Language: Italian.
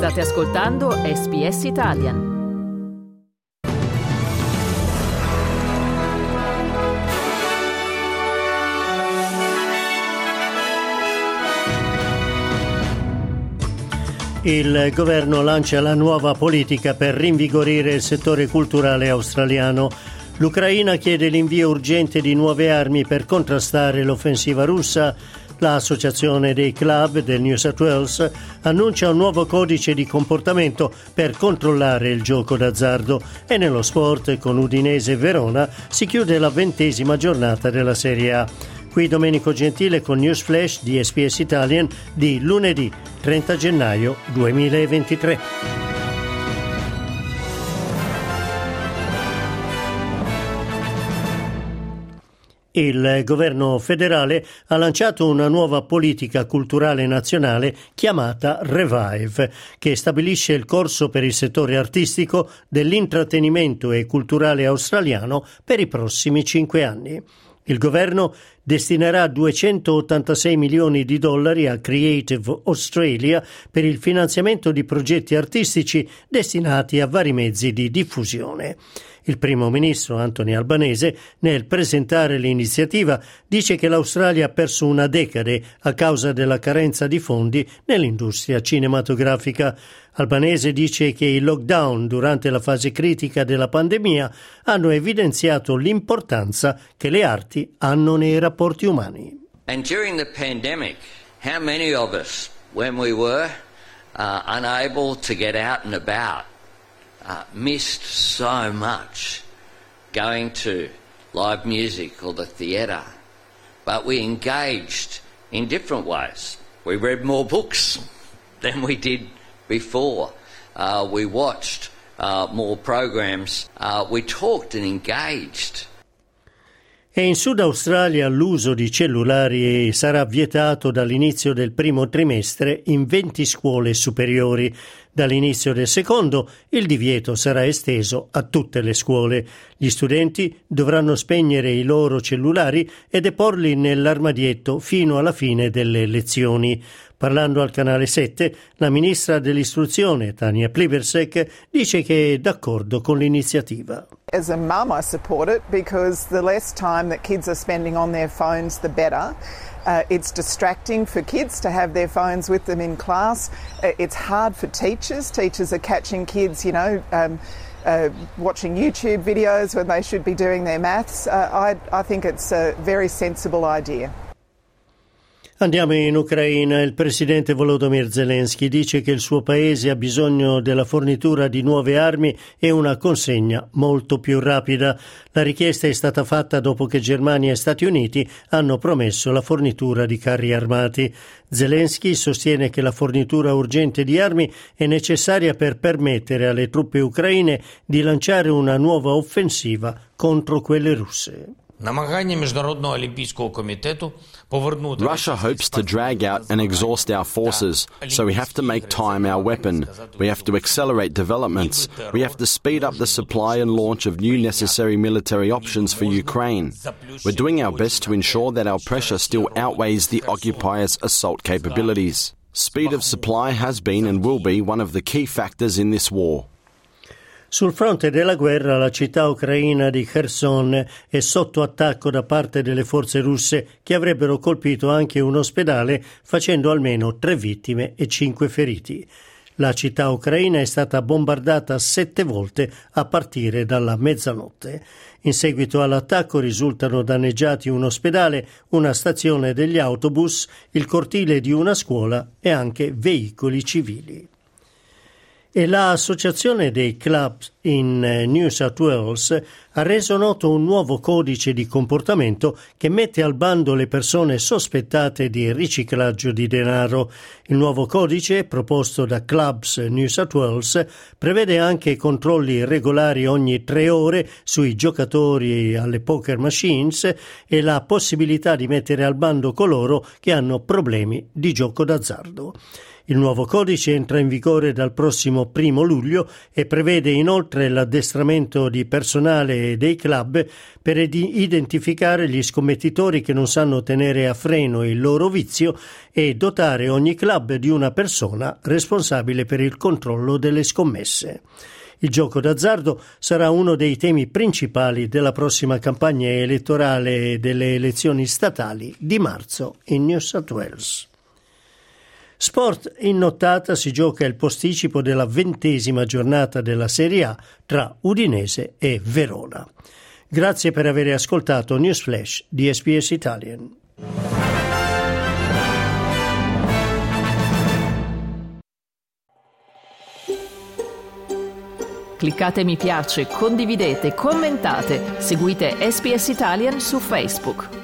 State ascoltando SBS Italian. Il governo lancia la nuova politica per rinvigorire il settore culturale australiano. L'Ucraina chiede l'invio urgente di nuove armi per contrastare l'offensiva russa. L'associazione dei club del New South Wales annuncia un nuovo codice di comportamento per controllare il gioco d'azzardo. E nello sport, con Udinese e Verona, si chiude la 20ª giornata della Serie A. Qui Domenico Gentile con News Flash di SBS Italian di lunedì 30 gennaio 2023. Il governo federale ha lanciato una nuova politica culturale nazionale chiamata Revive, che stabilisce il corso per il settore artistico, dell'intrattenimento e culturale australiano per i prossimi 5 anni. Il governo destinerà $286 milioni a Creative Australia per il finanziamento di progetti artistici destinati a vari mezzi di diffusione. Il primo ministro Anthony Albanese, nel presentare l'iniziativa, dice che l'Australia ha perso una decade a causa della carenza di fondi nell'industria cinematografica. Albanese dice che i lockdown durante la fase critica della pandemia hanno evidenziato l'importanza che le arti hanno nei rapporti umani. And during the pandemic, how many of us, when we were unable to get out and about, missed so much going to live music or the theatre, but we engaged in different ways. We read more books than we did before. We watched more programs. We talked and engaged. E in Sud Australia l'uso di cellulari sarà vietato dall'inizio del primo trimestre in 20 scuole superiori. Dall'inizio del secondo il divieto sarà esteso a tutte le scuole. Gli studenti dovranno spegnere i loro cellulari e deporli nell'armadietto fino alla fine delle lezioni. Parlando al canale 7, la ministra dell'istruzione, Tania Plibersek, dice che è d'accordo con l'iniziativa. As a mum, I support it because the less time that kids are spending on their phones, the better. It's distracting for kids to have their phones with them in class. It's hard for teachers. Teachers are catching kids, watching YouTube videos when they should be doing their maths. I think it's a very sensible idea. Andiamo in Ucraina. Il presidente Volodymyr Zelensky dice che il suo paese ha bisogno della fornitura di nuove armi e una consegna molto più rapida. La richiesta è stata fatta dopo che Germania e Stati Uniti hanno promesso la fornitura di carri armati. Zelensky sostiene che la fornitura urgente di armi è necessaria per permettere alle truppe ucraine di lanciare una nuova offensiva contro quelle russe. Russia hopes to drag out and exhaust our forces, so we have to make time our weapon. We have to accelerate developments. We have to speed up the supply and launch of new necessary military options for Ukraine. We're doing our best to ensure that our pressure still outweighs the occupiers' assault capabilities. Speed of supply has been and will be one of the key factors in this war. Sul fronte della guerra, la città ucraina di Kherson è sotto attacco da parte delle forze russe che avrebbero colpito anche un ospedale, facendo almeno 3 vittime e 5 feriti. La città ucraina è stata bombardata 7 volte a partire dalla mezzanotte. In seguito all'attacco risultano danneggiati un ospedale, una stazione degli autobus, il cortile di una scuola e anche veicoli civili. E l'associazione dei club in New South Wales ha reso noto un nuovo codice di comportamento che mette al bando le persone sospettate di riciclaggio di denaro. Il nuovo codice, proposto da Clubs New South Wales, prevede anche controlli regolari ogni 3 ore sui giocatori alle poker machines e la possibilità di mettere al bando coloro che hanno problemi di gioco d'azzardo. Il nuovo codice entra in vigore dal prossimo 1 luglio e prevede inoltre l'addestramento di personale dei club per identificare gli scommettitori che non sanno tenere a freno il loro vizio e dotare ogni club di una persona responsabile per il controllo delle scommesse. Il gioco d'azzardo sarà uno dei temi principali della prossima campagna elettorale delle elezioni statali di marzo in New South Wales. Sport, in nottata si gioca il posticipo della 20ª giornata della Serie A tra Udinese e Verona. Grazie per aver ascoltato News Flash di SBS Italian. Cliccate mi piace, condividete, commentate, seguite SBS Italian su Facebook.